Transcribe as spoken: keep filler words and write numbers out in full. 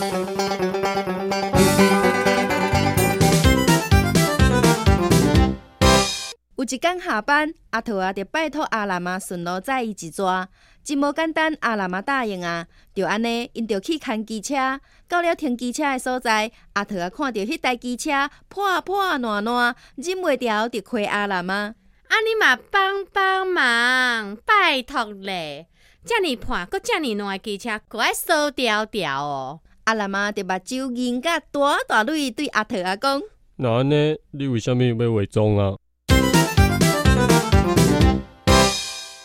有一天下班，阿桃啊，就拜托阿兰啊顺路载伊一逝。真无简单，阿兰啊答应啊。就安尼，因就去看机车。到了停机车的所在，阿桃啊看到迄台机车破破烂烂，忍袂住就亏阿兰啊。 啊，你嘛帮帮忙，拜托咧！遮尔破，搁遮尔烂的机车，搁爱扫掉掉哦。 阿兰啊，就目睭银甲大大蕊对阿桃啊讲： 那安尼，你为虾米要伪装啊？